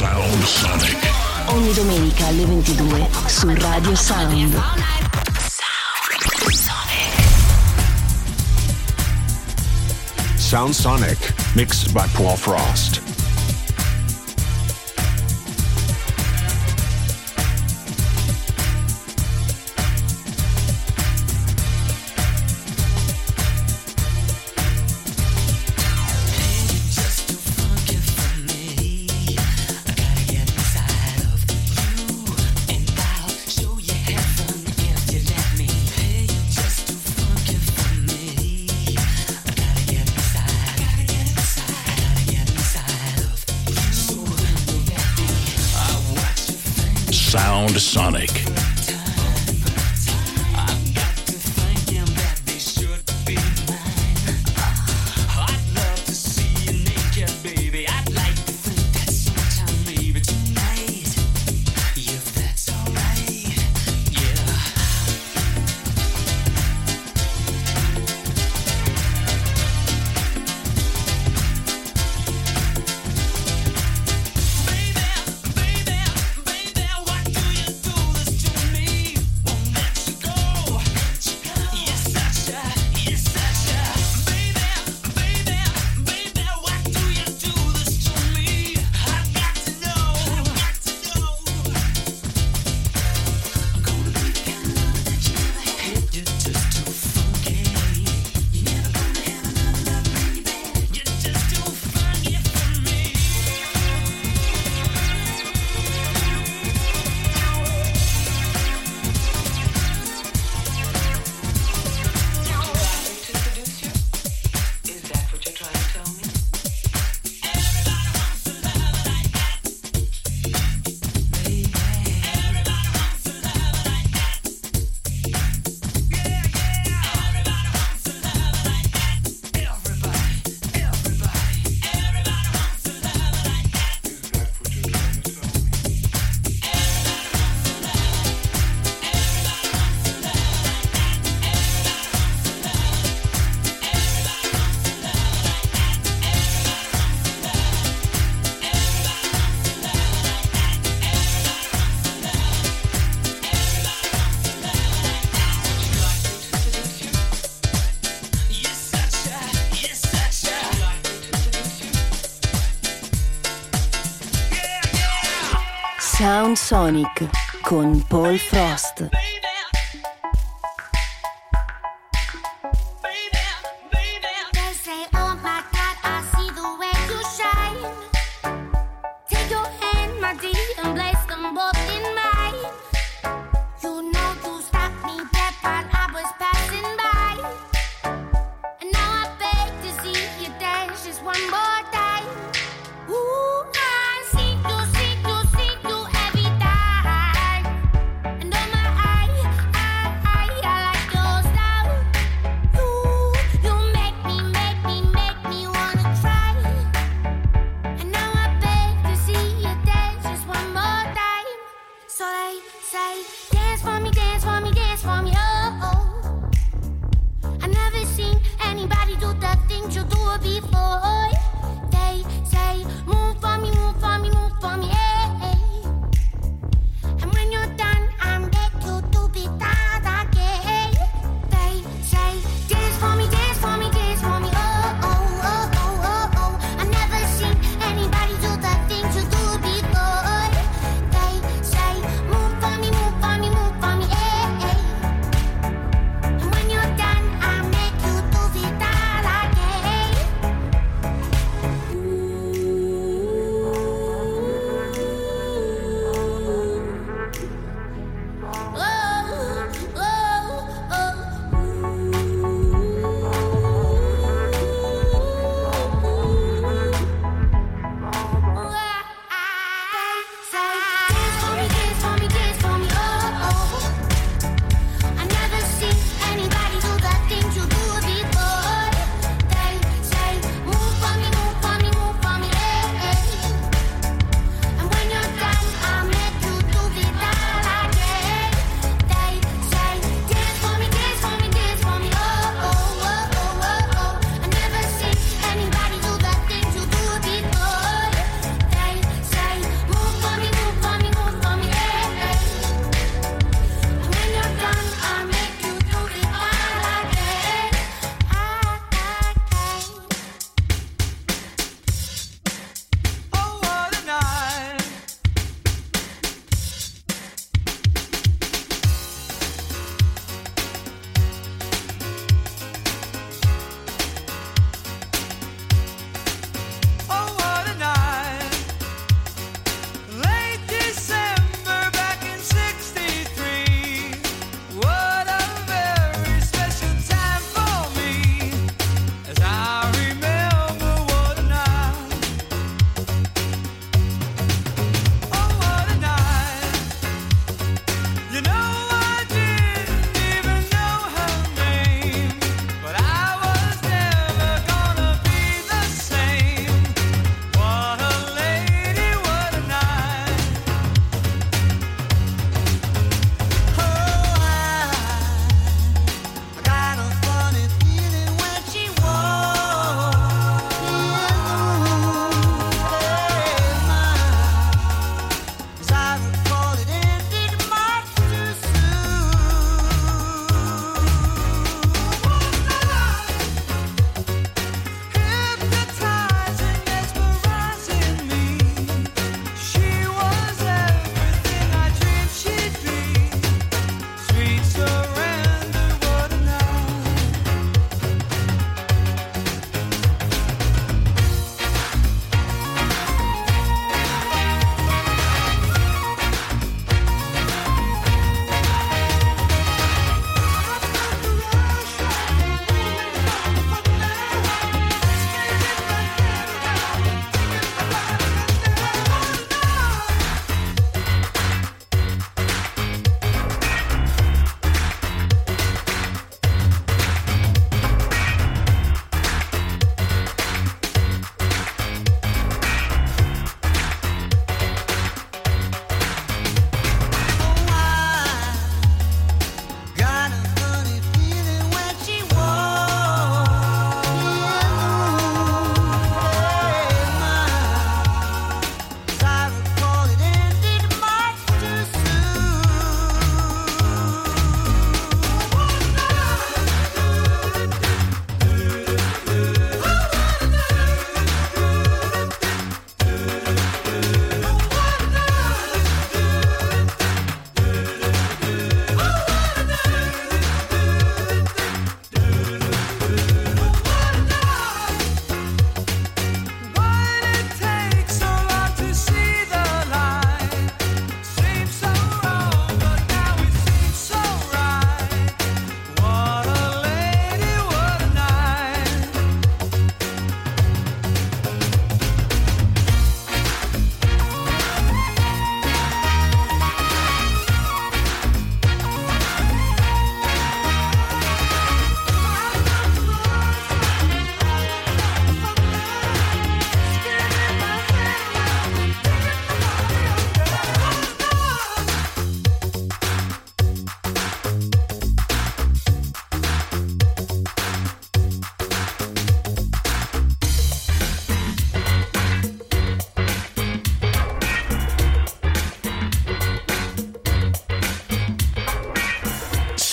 Sound Sonic. Ogni domenica alle 22 su Radio Sound. Sound Sonic, mixed by Paul Frost. Sound Sonic. Sound Sonic con Paul Frost.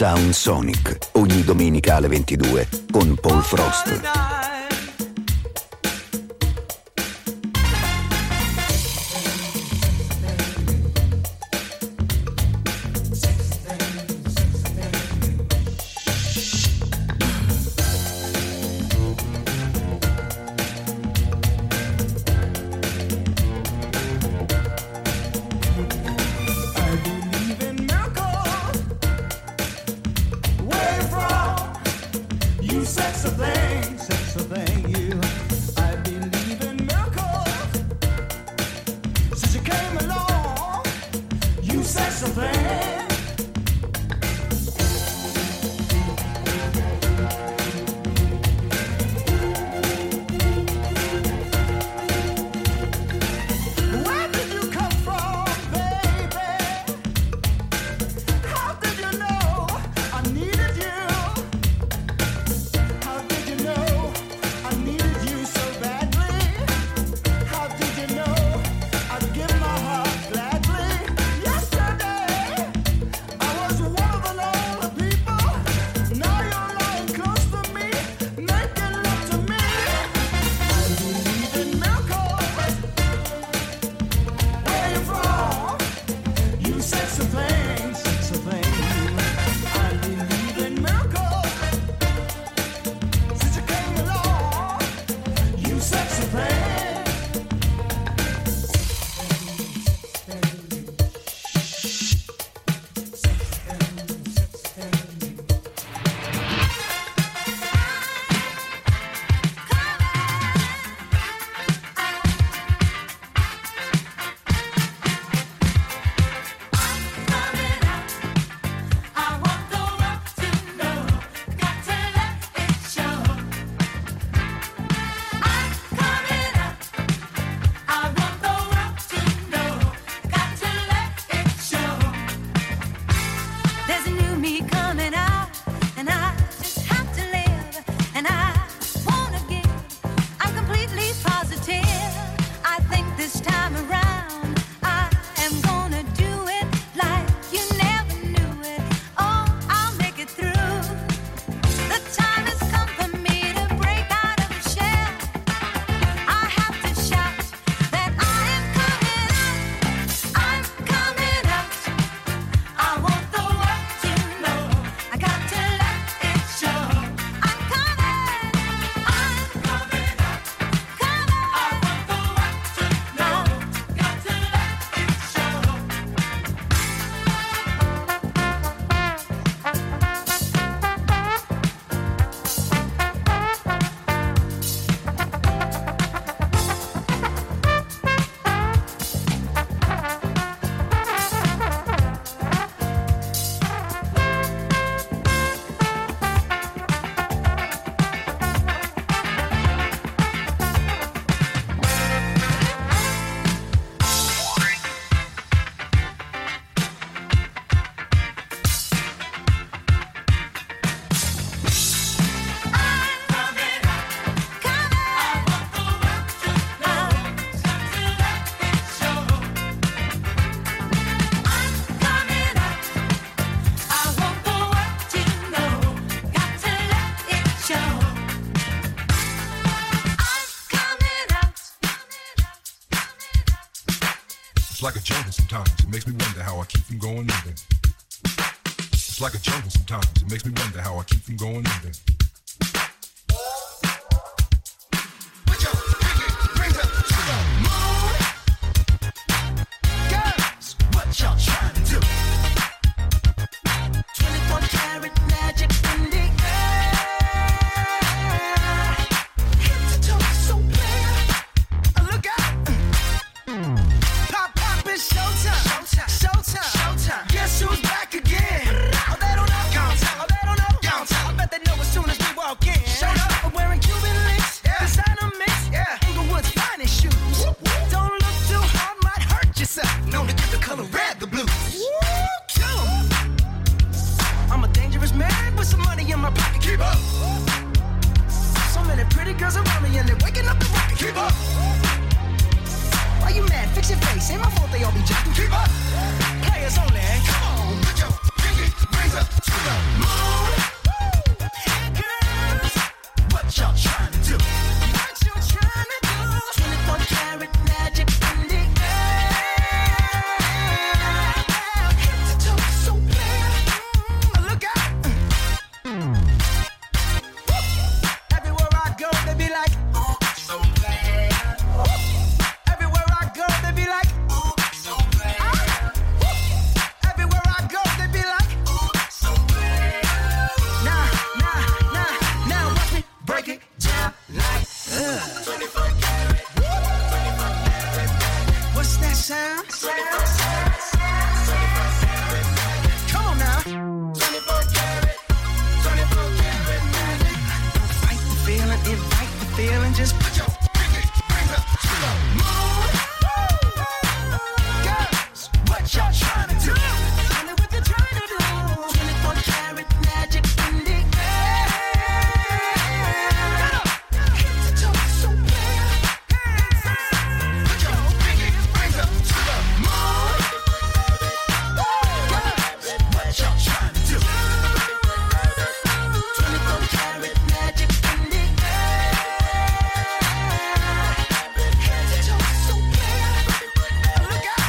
Sound Sonic, ogni domenica alle 22 con Paul Frost. It's like a jungle sometimes, it makes me wonder how I keep from going under. It's like a jungle sometimes, it makes me wonder how I keep from going under. Put your pinky rings up to the moon. Girls, what y'all trying to do? 24 karat magic in the air. Head to toe so clear. Look out. Pop, pop, it's showtime. Showtime. Showtime. Showtime. Guess who's back again? Oh, they don't know. Oh, they don't know. I bet they know as soon as sound. Come on now. 24 karat magic. Fight the feeling, invite the feeling. Just put your pinky rings up to the moon. Girls, what y'all trying to do? Tell me what you're trying to do. 24 karat magic in the air. Head to toe, so clear. Put your pinky rings up to the moon. Girls, what y'all trying to do? 24 karat magic in the air. Head to toe, so clear. Look out.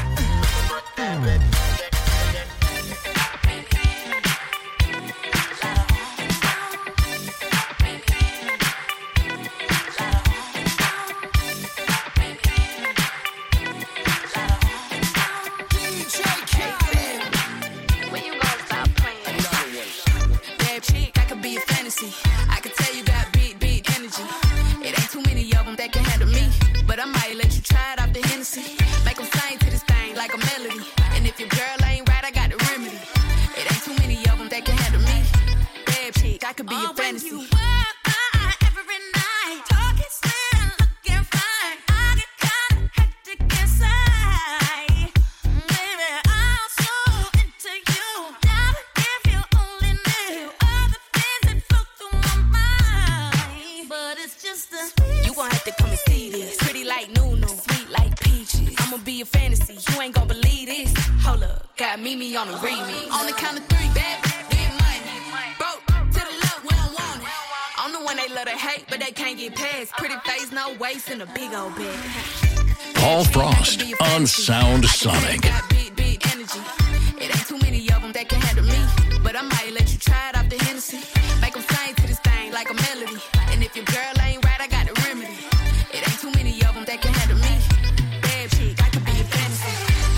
DJ Khaled. When you gonna stop playing? Bad chick, I could be a fantasy. I could tell you got big energy. It ain't too many of them that can handle me. But I might let you try it off the Hennessy. Make them sing to this thing like a melody. And if your girl ain't right, I got the remedy. It ain't too many of them that can handle me. Bad chick, I could be a fantasy. Every night, talking slim, looking fine. I get kinda hectic inside. Baby, I'm so into you. Darling, if you only knew all the things that flow through my mind. But it's just a You gon' have to come and see this. Pretty like Nunu, sweet like peaches. I'ma be a fantasy, you ain't gon' believe this. Hold up, got Mimi on the remix. On the count of three, bad, get money. Broke to the left, we don't want it. I'm the one they love to hate, but they can't get past. Pretty face, no waist, and a big old bag. Paul Frost on Sound Sonic. Got big energy. It ain't too many of them that can handle me. But I might let you try it off the Hennessy. Make them sing to this thing like a melody. And if your girl ain't right, I got the remedy. It ain't too many of them that can handle me. Bad chick, I could be a fantasy.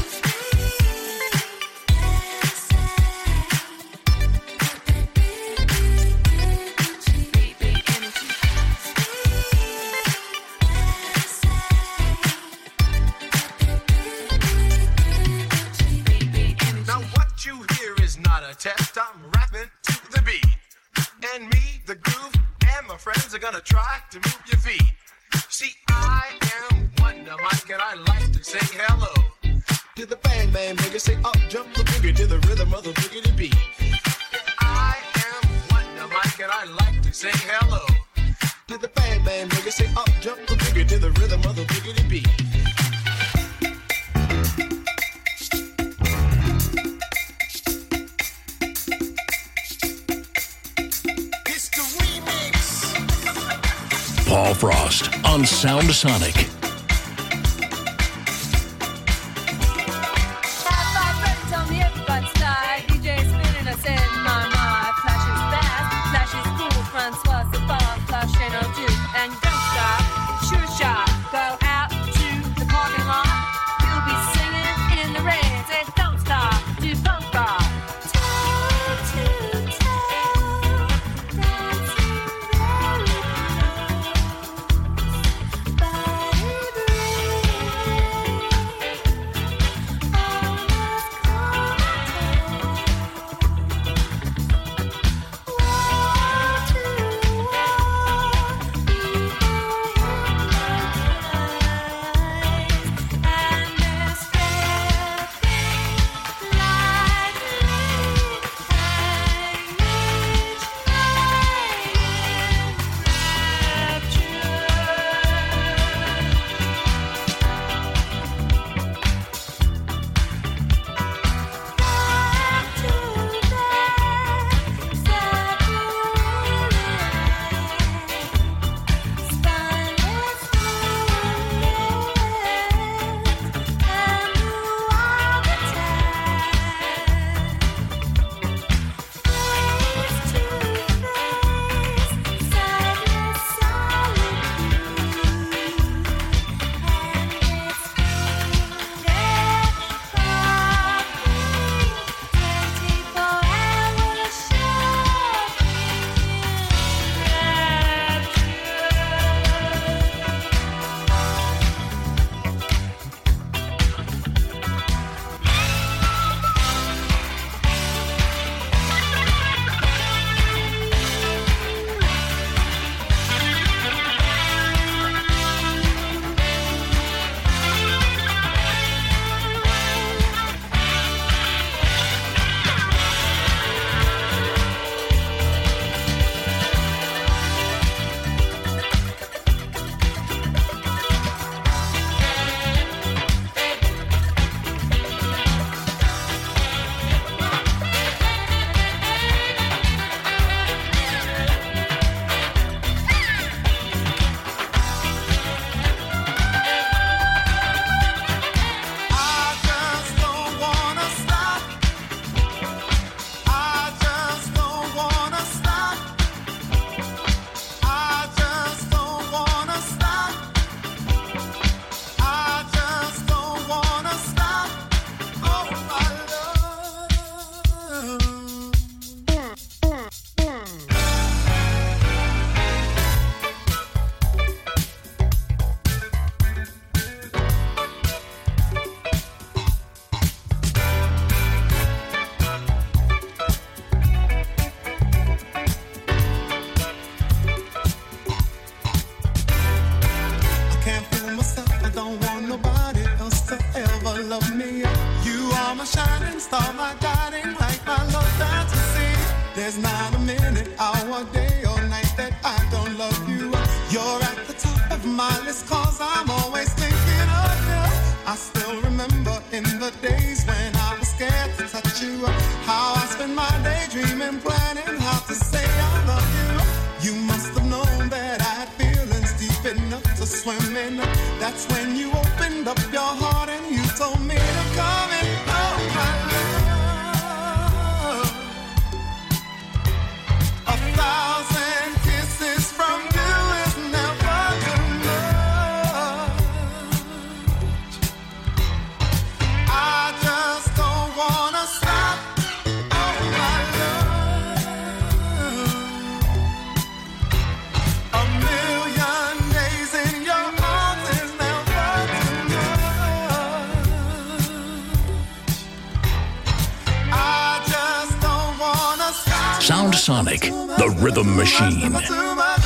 Big energy. Big energy. Now what you hear is not a test. I'm rapping to the beat. And me, the groove, and my friends are gonna try to move your feet. See, I am Wonder Mike and I like to say hello to the bang bang boogie. Say up, jump the boogie to the rhythm of the boogie beat. I am Wonder Mike and I like to say hello to the bang bang boogie. Say up, jump the boogie to the rhythm of the boogie beat. It's the remix. Paul Frost on Sound Sonic. High five, ready, tell me everybody slide. DJ spinning us in my mind. Flash is fast, flash is cool. Francois, c'est pas flash and I'll do. And don't stop, sure shot. Go out to the parking lot. You'll be singing in the rain. Say don't stop, do funk rock. Toe to toe, dancing very close. Body love me. You are my shining star, my guiding light, my love fantasy. There's not a minute, hour, day or night that I don't love you. You're at the top of my list, cause I'm always thinking of you. I still remember in the days when I was scared to touch you, how I spent my day dreaming, planning how to say I love you. You must have known that I had feelings deep enough to swim in. That's when you opened up your heart and you told me to come in. Oh my love, 1,000 kisses from you is never too much. I just don't wanna stop. Oh my love, a million days in your arms is never too much. I just don't wanna stop. Sound Sonic, the rhythm machine. Too much.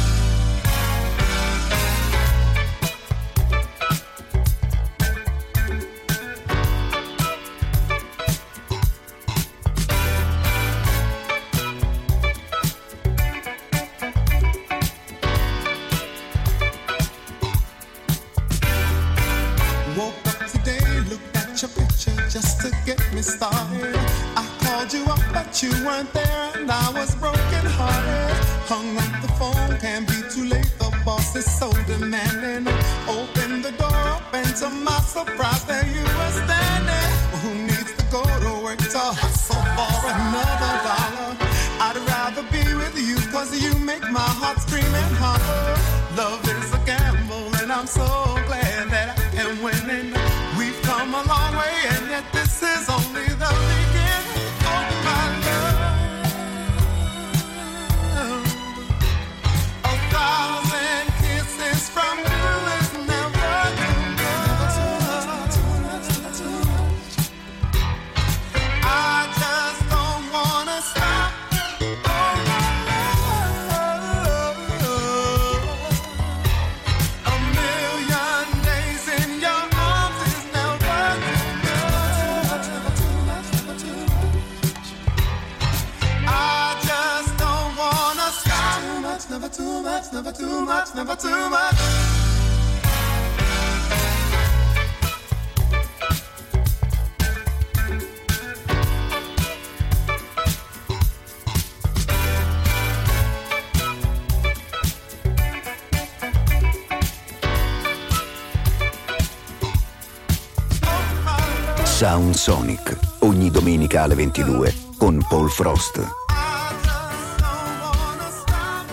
Woke up today, looked at your picture just to get me started. I called you up, but you weren't there, and I was broken hearted. Hung up the phone, can't be too late. The boss is so demanding. Open the door up, and to my surprise, there you were standing. Who needs to go to work to hustle for another dollar? I'd rather be with you, cause you make my heart scream and holler. Love is a gamble, and I'm so glad that I am winning. We've come a long way, and yet this is only the beginning. Oh my love, 1,000 kisses from you is never too much. I just don't wanna stop. Oh my love, a million days in your arms is never too much. I just don't wanna stop. Never too much, never too much, never too much. Sound Sonic, ogni domenica alle 22 con Paul Frost. I just don't wanna stop.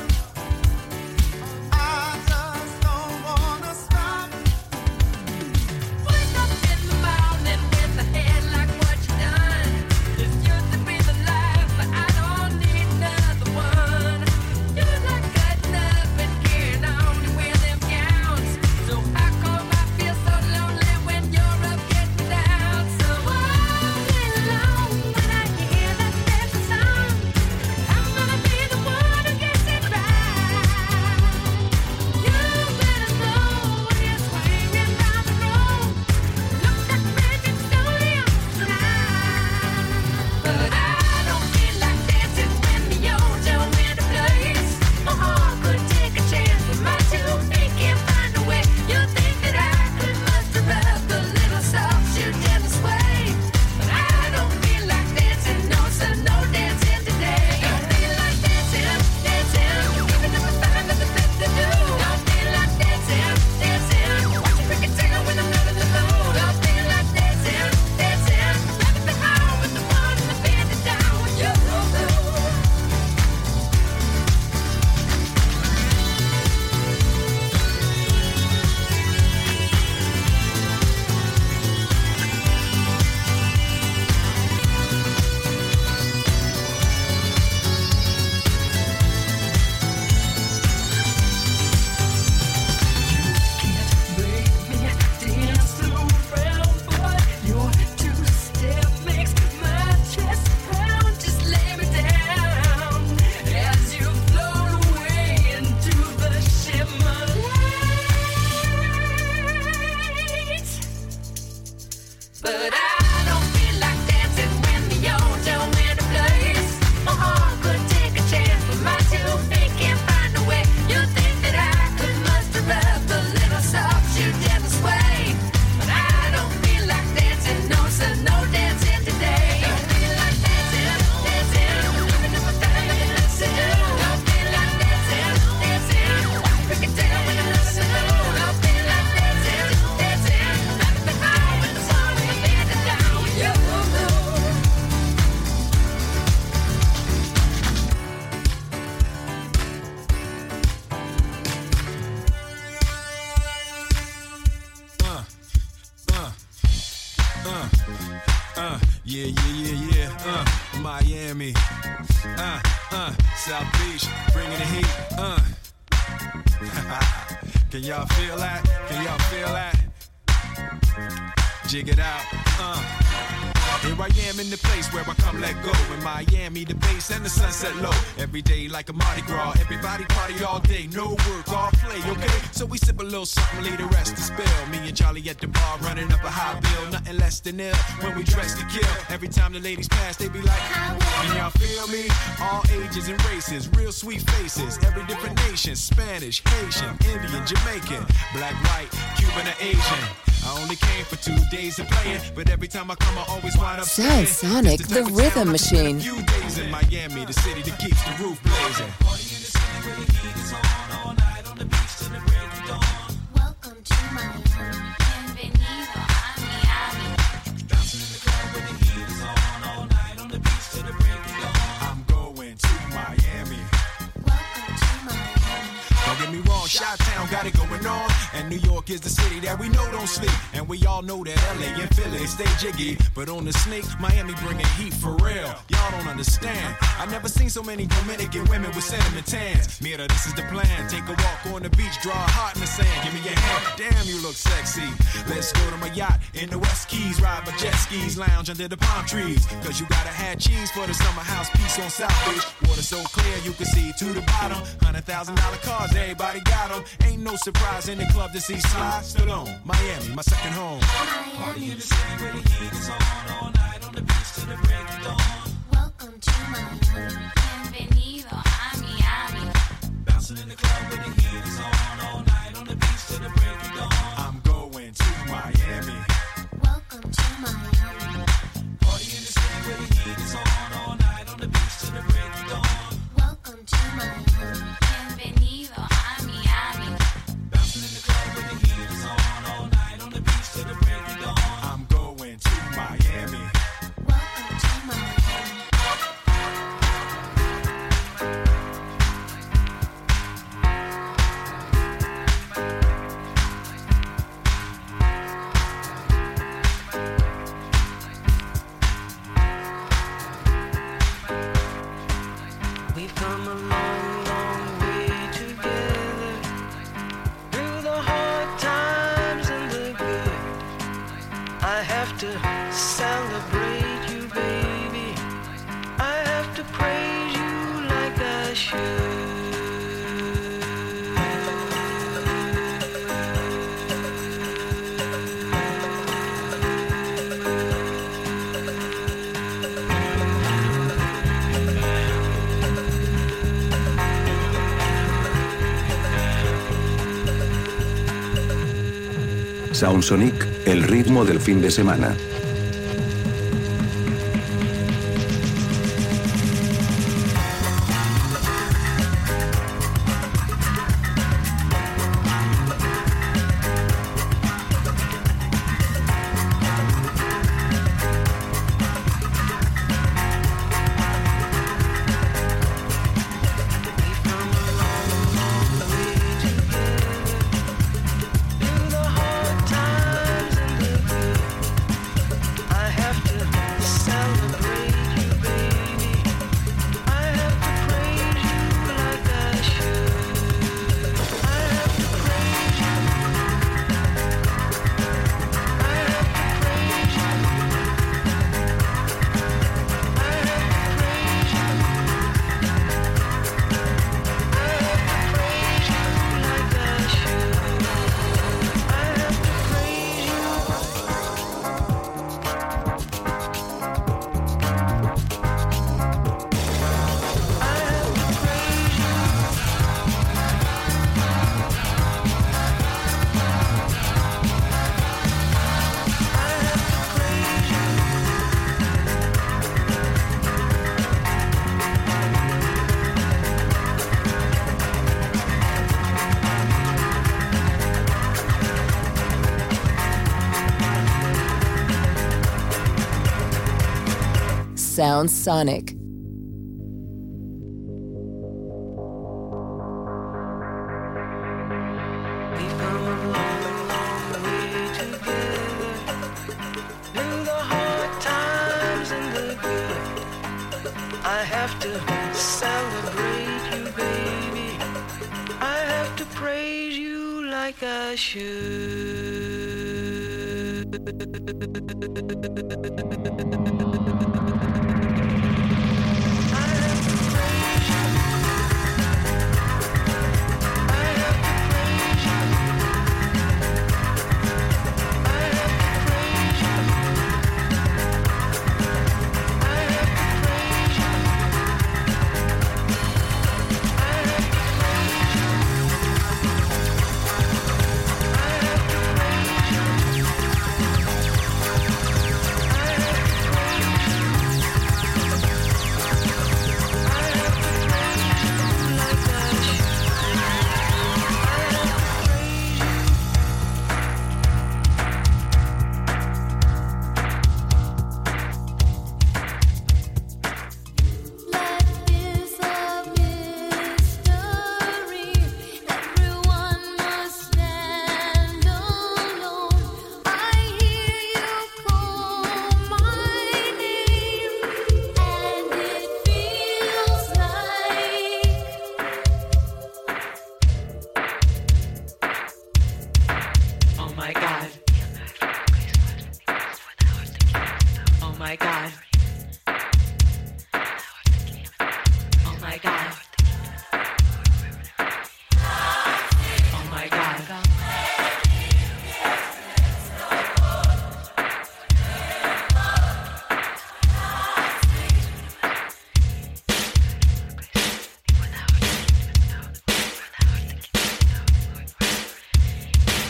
I just don't wanna stop. Wake up in the morning with the head like what you done. This used to be the life, but I don't need another one. You like cutting up and carrying on to wear them gowns. So how come I feel so lonely when you're up getting down? So all day long when I hear that dancing song, But I don't feel like dancing when the old tell me to place. My heart could take a chance, but my 2 feet can't find a way. You think that I could muster up a little soft shoe devil sway. But I don't feel like dancing, no sir, no dancing today. Don't feel like dancing, dancing. Living up a thing, dancing. Don't feel like dancing, dancing. We can tell when you listen. Don't feel like dancing, dancing. Nothing but high when the song is bending down with you. Yeah. Miami. South Beach, bringing the heat. Can y'all feel that? Can y'all feel that? Jig it out. Here I am in the place where I come let go. In Miami, the bass and the sunset low. Every day like a Mardi Gras. Everybody party all day. No work, all play, okay? So we sip a little something, leave the rest to spill. Me and Charlie at the bar running up a high bill. Nothing less than ill when we dress to kill. Every time the ladies pass, they be like, can y'all feel me? All ages and races, real sweet faces. Every different nation, Spanish, Haitian, Indian, Jamaican, black, white, Cuban, or Asian. I only came for 2 days of playing, but every time I come, I always wind up Sound Sonic, the rhythm machine. Few days in Miami, the city that keeps the roof blazing. Welcome to Miami. Bienvenido a Miami. Bouncing in the club when the heat is on all night on the beach till the break of dawn. I'm going to Miami. Welcome to Miami. Don't get me wrong, Chi-Town got it going on. And New York is the city that we know don't sleep. And we all know that LA and Philly stay jiggy. But on the sneak, Miami bringing heat for real. Y'all don't understand. I never seen so many Dominican women with sentiment tans. Mira, this is the plan. Take a walk on the beach, draw a heart in the sand. Give me your hand. Damn, you look sexy. Let's go to my yacht in the West Keys. Ride my jet skis, lounge under the palm trees. Cause you gotta have cheese for the summer house piece on South Beach. Water so clear you can see to the bottom. $100,000 cars, everybody got them. Ain't no surprise in the club to see Sly Stallone. Miami, my second home. Miami. In the city where the heat is on all night on the beach till the break of dawn. Welcome to Miami. Bienvenido a Miami. Bouncing in the club where the heat is on all night on the beach till the break of dawn. I'm going to Miami. Welcome to Miami. Party in the city where the heat is on all night on the beach till the break of dawn. Welcome to Miami. Bienvenido a Miami. Bouncing in the club where the heat is on all night on the beach till the break of dawn. I'm going to Miami. Welcome to Miami. We've come a long, long way together, through the hard times and the good. I have to celebrate you, baby. I have to praise you like I should. Sound Sonic, el ritmo del fin de semana. Through the hard times and the good. sounds sonic. I have to celebrate you, baby. I have to praise you like I should.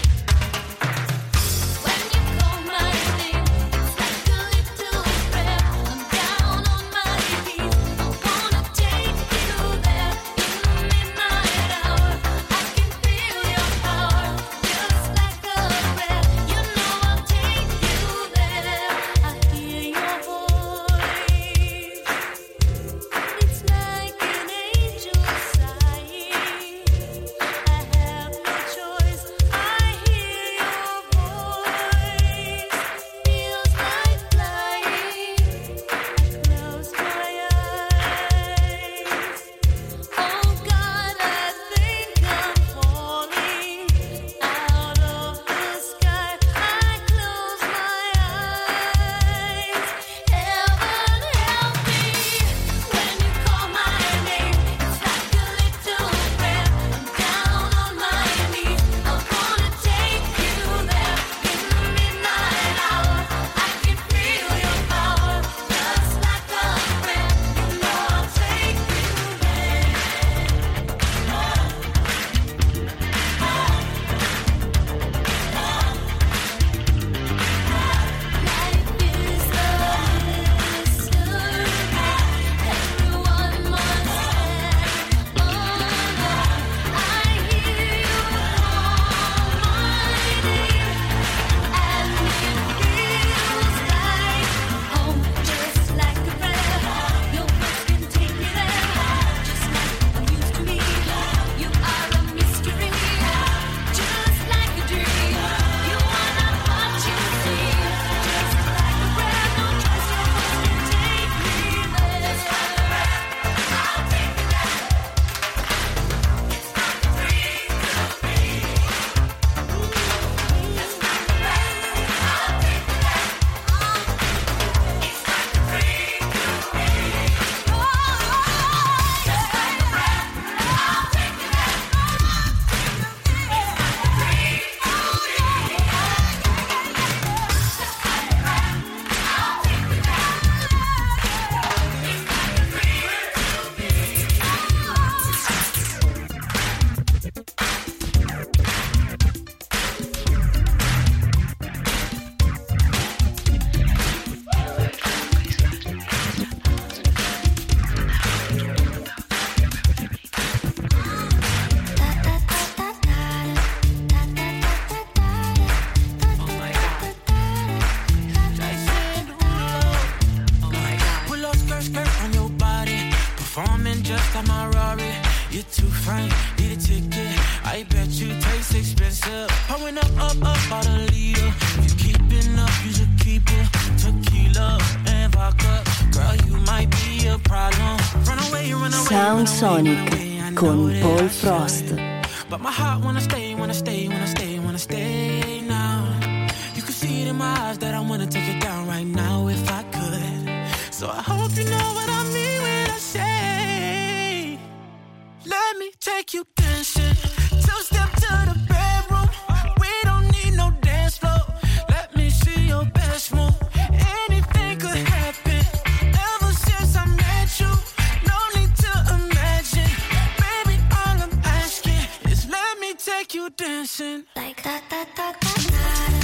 When you call my name, it's like a little You're too fine, need a ticket. I bet you taste expensive. Pouring up about a liter. If you keeping up, you should keep it. Tequila and vodka. Girl, you might be a problem. Run away, run away. Sound Sonic con Paul Frost. But my heart wanna stay, wanna stay, wanna stay, wanna stay now. You can see it in my eyes that I wanna take it down right now if I could. So I hope you know what I mean when I say, let me take you dancing. Two-step to the bedroom. We don't need no dance floor. Let me see your best move. Anything could happen. Ever since I met you, no need to imagine. Baby, all I'm asking is let me take you dancing. Like da da da da da.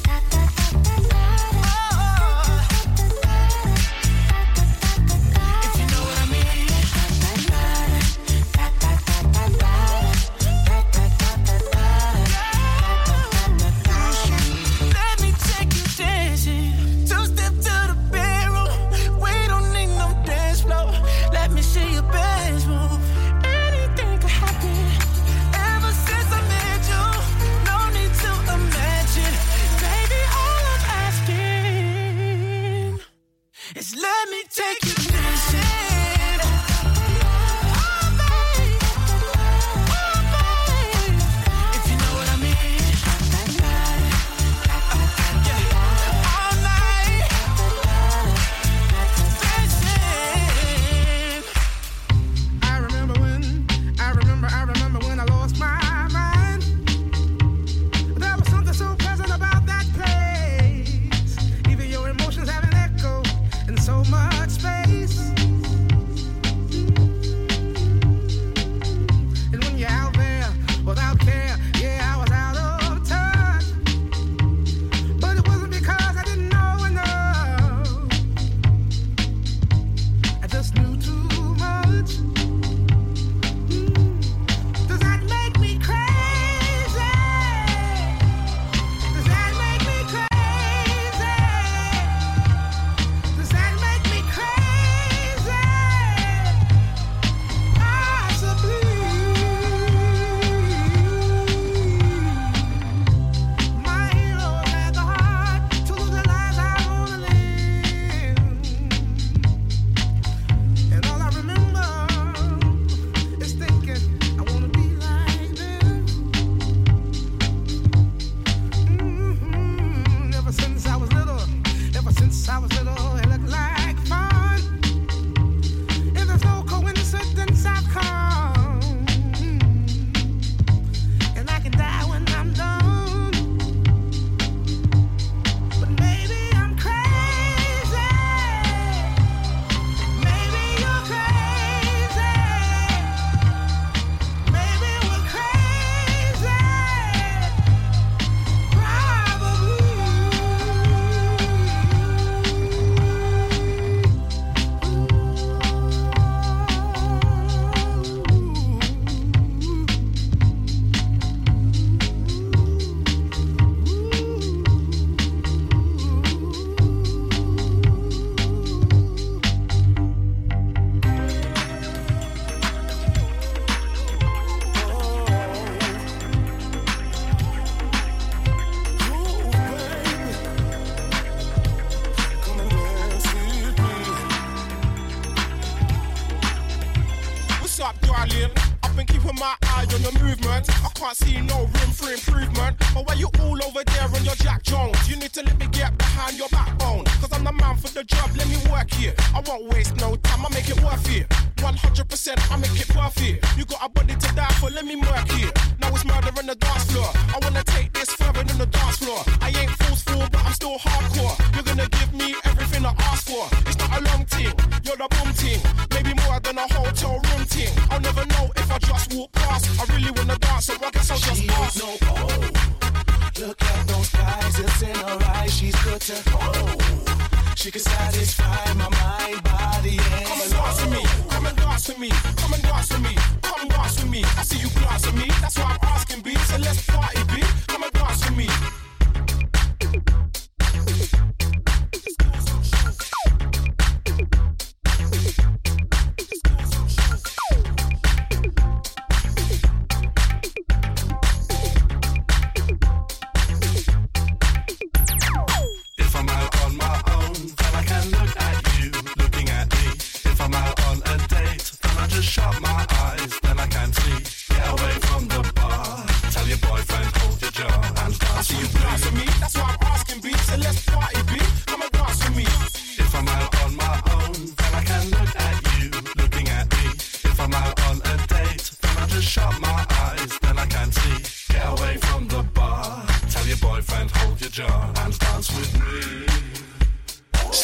Let me take you dancing. Oh, babe. Oh, babe. If you know what I mean. Yeah. All night. Dancing. I remember when I lost my mind. There was something so pleasant about that place. Even your emotions have an echo in so much space. And when you're out there without care, yeah, I was out of touch. But it wasn't because I didn't know enough. I just knew too much. Does that make me crazy? Does that make me crazy? Does that make me crazy? Possibly. My hero had the heart to live the life I wanna live. And all I remember is thinking I wanna be like them. Ever since I was little, it looked like fun. And there's no coincidence I've come. And I can die when I'm done. But maybe I'm crazy. Maybe you're crazy. Maybe we're crazy. What's up, darling? I've been keeping my eye on your movement. I can't see no room for improvement. But why you all over there on your Jack Jones? You need to let me get behind your backbone. Cause I'm the man for the job, let me work here. I won't waste no time, I make it worth it. 100% I make it worth it. You got a body to die for, let me work here. Now it's murder on the dance floor. I wanna take this further than the dance floor. I ain't forceful, but I'm still hardcore. You're gonna give me everything I ask for. It's not a long thing, you're the boom team. Maybe more than a hotel room team. I'll never know if I just walk past. I really wanna dance, so I guess I'll just pass. No, oh, look at those eyes, it's in her eyes. She's good to hold. She can satisfy my mind, body, and come and dance with me, come and dance with me, come and dance with me, come dance with me. I see you glance at me, that's why I'm asking, B. So let's party, B. Come and dance with me.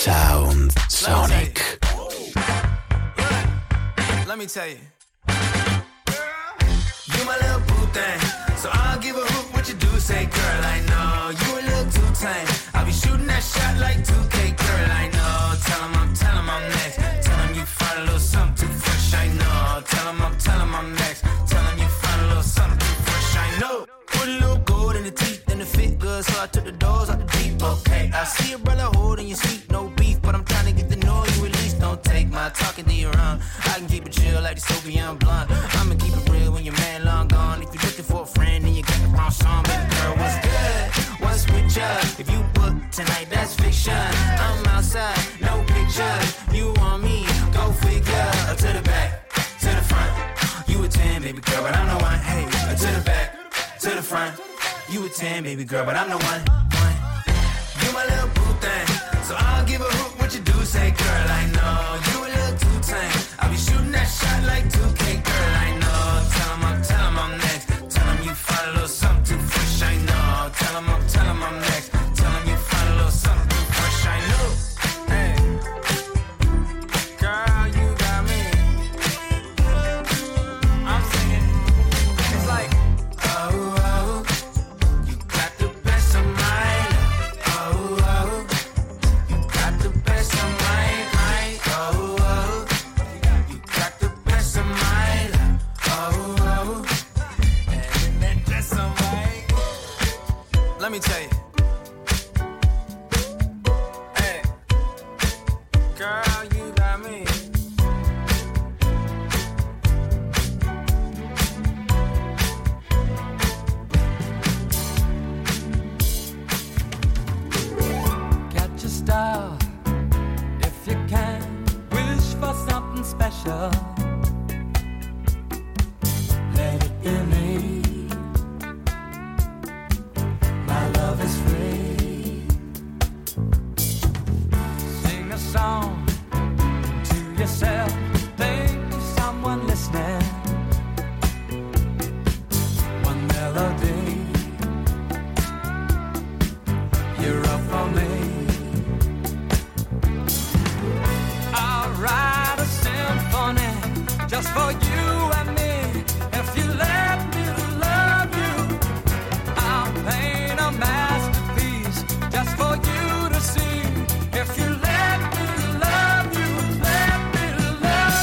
Sound Sonic. Let me tell you. You my little boo thing, so I'll give a hoot what you do. Say, girl, I know you a little too tame. I'll be shooting that shot like 2K, girl, I know. Tell him I'm next. Tell him you find a little something too fresh, I know. Tell him I'm next. Tell him you find a little something too fresh, I know. Put a little gold in the teeth and the fit good, so I took the doors out the deep, okay. I see a brother holding your seat, no beef, but I'm trying to get the noise you release. Don't take my talking to your own. I can keep it chill like the Soviet blonde. I'ma keep it real when your man long gone. If you're looking for a friend, then you got the wrong song. Baby girl, what's good? What's with ya? If you book tonight, that's fiction. I'm outside, no pictures. You want me? Go figure. To the back, to the front. You a 10, baby girl, but I'm the one. Hey, to the back, to the front. You a 10, baby girl, but I'm the one. You my little boo thing, so I'll give a hoot what you do. Say, girl, I know you a little too tame. I'll be shooting that shot like 2K, girl, I know. Tell him I'm next. Tell him you find a little something too fresh, I know. Tell him I'm next. Tell him you find a little something too fresh, I know. Hey, girl, you got me. I'm singing. It's like, oh, you got the best of mine. Oh, you got the best of mine. Oh, you got the best of mine. Oh, and then just of mine. Let me tell you. Hey, girl, you got me. Catch a star if you can. Wish for something special. Let it be me. My love is free. Sing a song to yourself. Think of someone listening. One melody. You're up for me. I'll write a symphony just for you and me. If you let me love you, I'll paint a masterpiece just for you to see. If you let me love you, let me love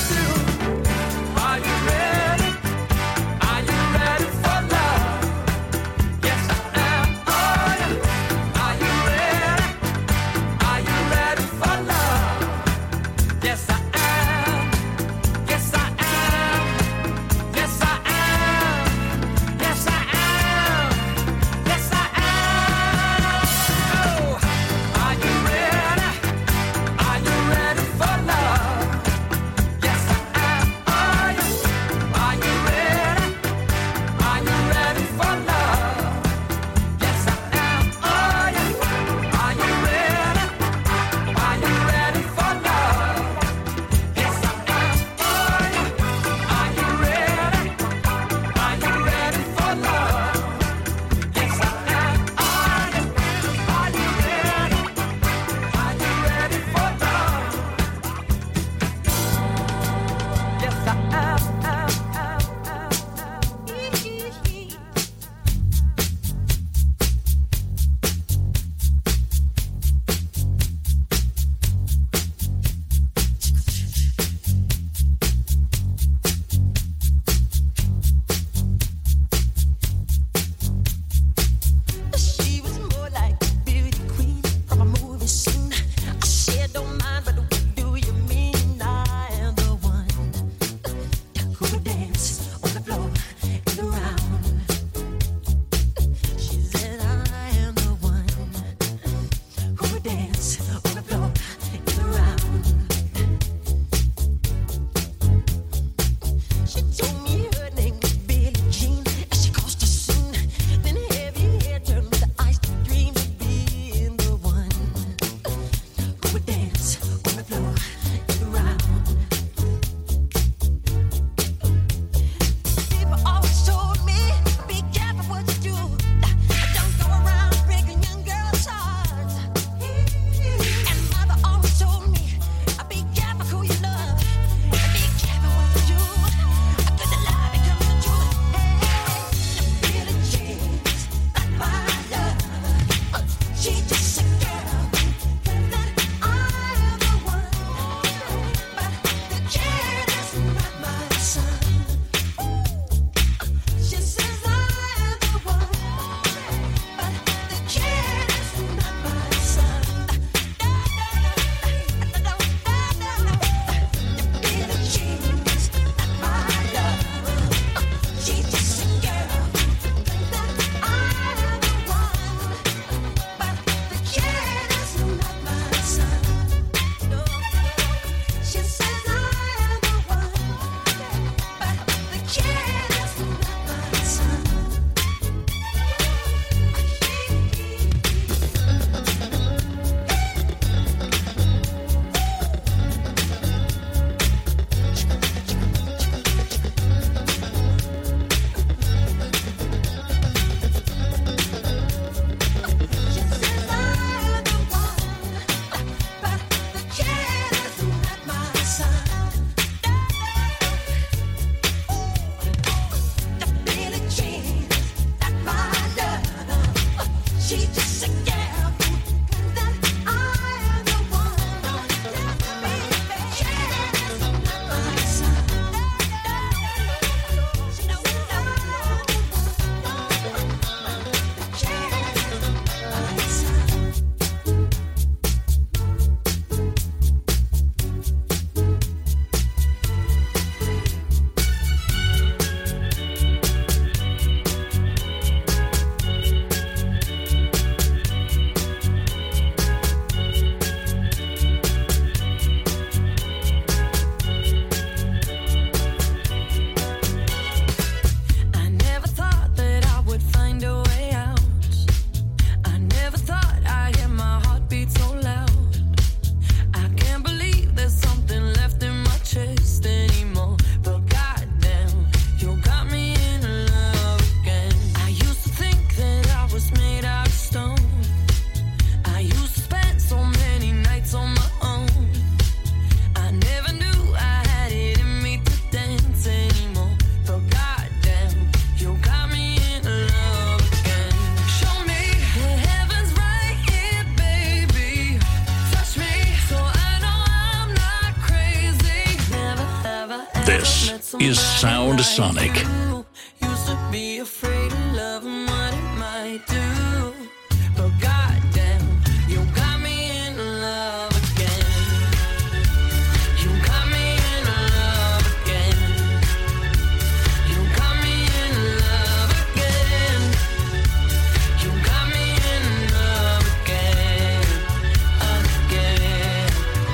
is Sound Sonic. Used to be afraid of love and what it might do, but goddamn, you got me in love again. You got me in love again. You got me in love again. You got me in love again, again.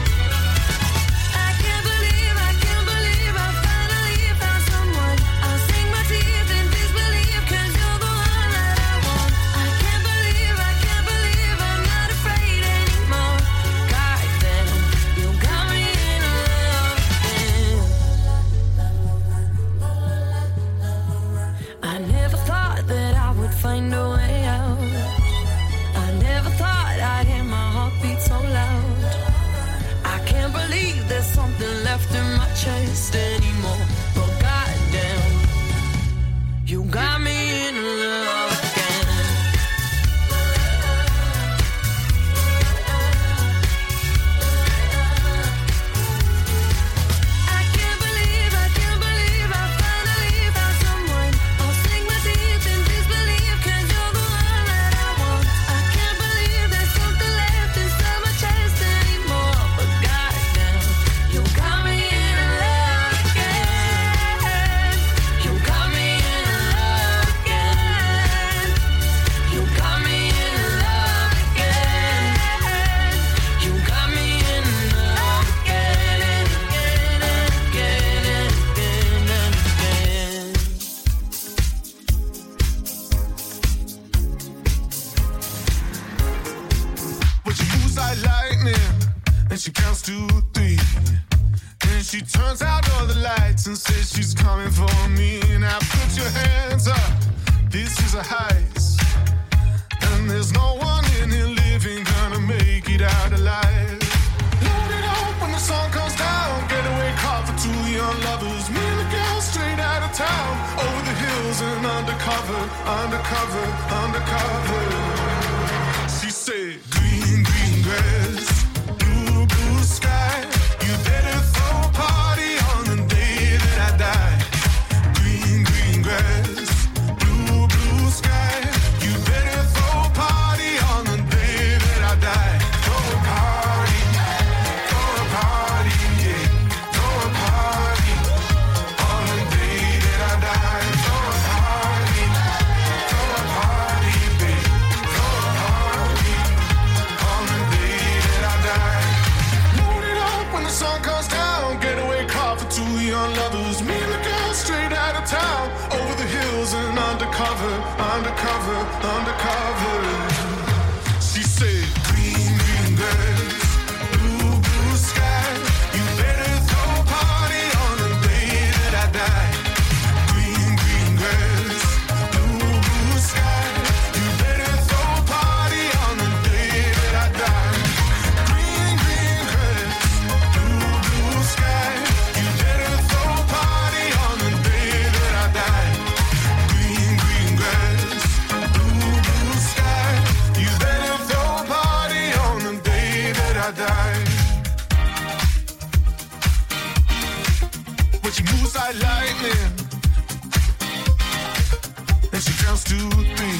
I can't believe I finally found someone. I'll sing my tears in disbelief 'cause you're the one that I want. I can't believe I'm not afraid anymore. Goddamn, you got me in love again. I never thought that I would find a way out. I never thought I'd hear my heartbeat so loud. I can't believe there's something left in my chest anymore. But goddamn, you got me in love again. I can't believe I finally found someone. I'll sing my tears in disbelief 'cause you're the one that I want. I can't believe there's something left inside my chest anymore. But goddamn, you got me in love again. You got me in love again. You got me in love again. You got me in love again and again and again and again and again. But she moves like lightning, and she counts to 3. And she turns out all the lights and says she's coming for me. Now put your hands up, this is a heist. And there's no one in here living gonna make it out alive. Load it up when the sun comes down, getaway car for 2 young lovers. Me and the girl straight out of town, over the hills and undercover, undercover, undercover. She said, green, green grass, blue, blue sky. You better throw a party on the day that I die. Green, green grass, blue, blue sky. You better throw a party on the day that I die. Throw a party, yeah. Throw a party on the day that I die. Throw a party, babe. Throw a party on the day that I die. Load it up when the sun comes down. Getaway car for 2 young lovers. Me and the girl straight out of town, over the hills and undercover, undercover, undercover. She said, green, green grass, blue, blue sky. You better throw a party on the day that I die. Green, green grass, blue, blue sky. You better throw a party on the day that I die. Green, green grass, blue, blue sky. You better throw a party on the day that I die. Green, green grass, blue, blue sky. You better throw a party on the day that I die. But she moves like lightning, and she counts to 3.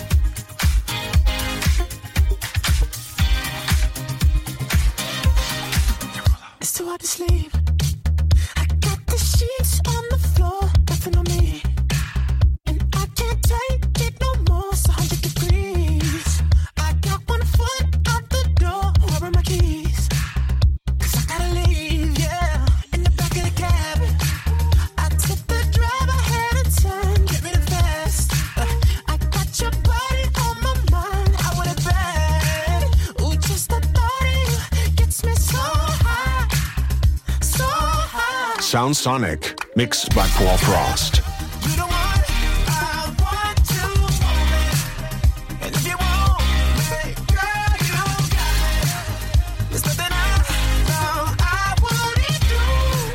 It's too hard to sleep. I got the sheets on the floor, nothing on me. And I can't take it no more, it's 100 degrees. I got 1 foot out the door, where are my keys? 'Cause I gotta leave, yeah, in the back of the cab. I took the drive ahead of time, get rid of fast. I got your body on my mind, I want it bad. Ooh, just the thought of you gets me so high, so high. Sound Sonic, mixed by Paul Frost. You don't want it, I want to hold it. And if you want me, girl, you got it. There's nothing I wouldn't do,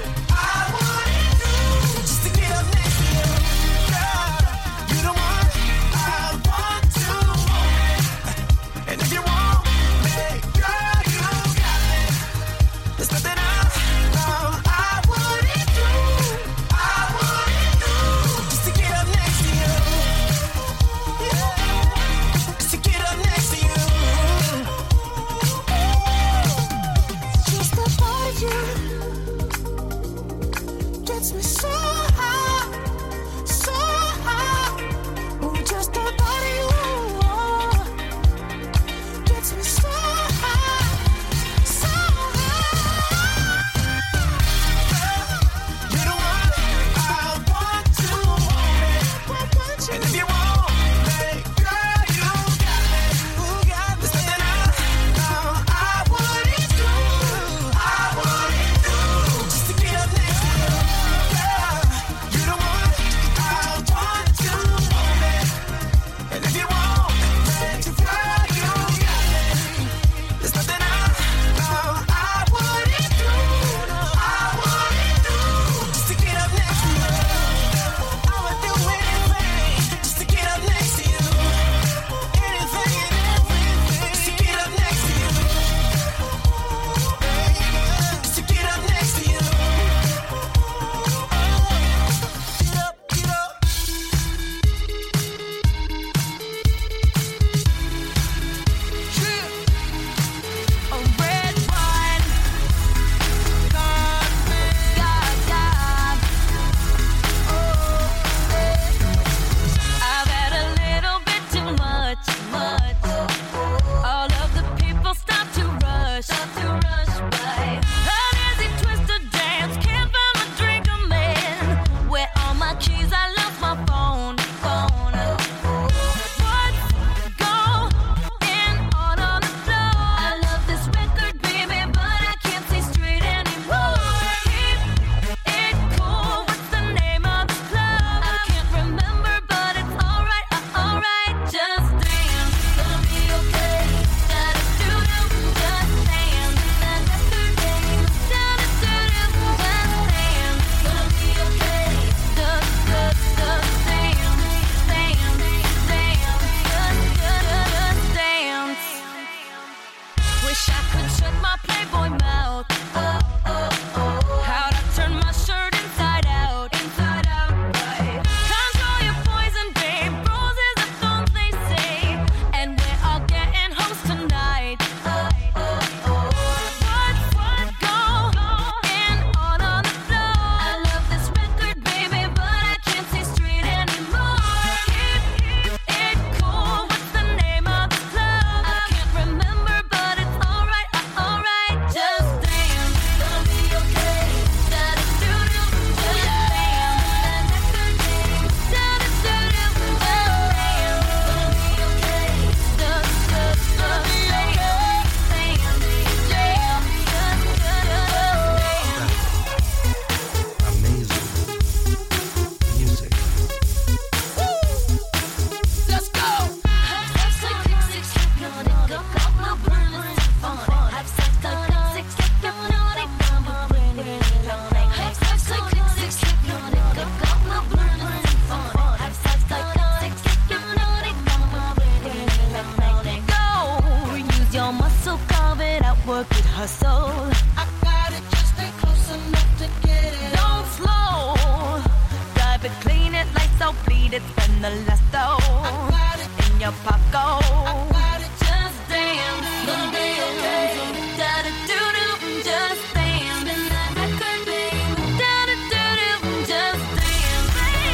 just to get up next to you. Girl, you don't want it, I want to hold it. And if you want me, girl, you got it. There's nothing I wouldn't do, I got it, just stay close enough to get it. Don't slow. Drive it, clean it, lights out, bleed it, spend the last dough. I got it in your pocket. I got it, just dance. Gonna be okay. Da-da-do-do, just dance. Spin that record, baby. Da-da-do-do, just dance, baby.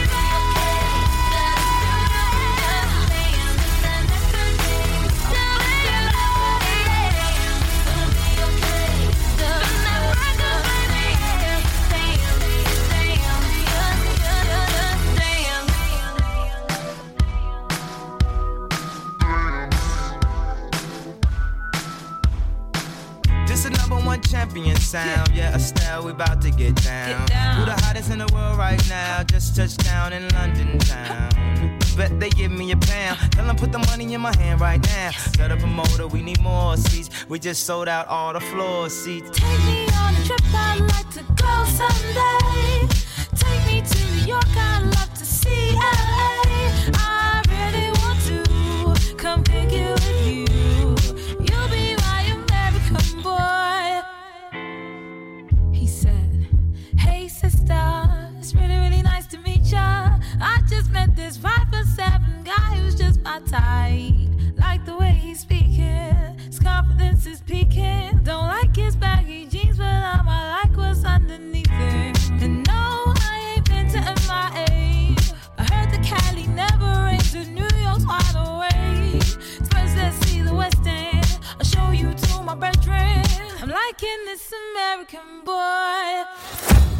This a number one champion sound. Yeah, Estelle, we about to get down. Who the hottest in the world right now? Just touched down in London town. Bet they give me a pound. Tell them put the money in my hand right now. Set up a motor, we need more seats. We just sold out all the floor seats. Take me on a trip, I'd like to go someday. Take me to New York, I'd love to see LA. I really want to come pick you with you. You'll be my American boy. He said, hey sister, it's really, really nice to meet ya. I just met this 5'7" guy who's just my type. Like the way he's speaking, his confidence is peaking. Don't like his baggy jeans, but I like what's underneath it. And no, I ain't been to MIA. I heard the Cali never rains, and New York's wide awake. First, let's see the West End. I'll show you to my brethren. I'm liking this American boy.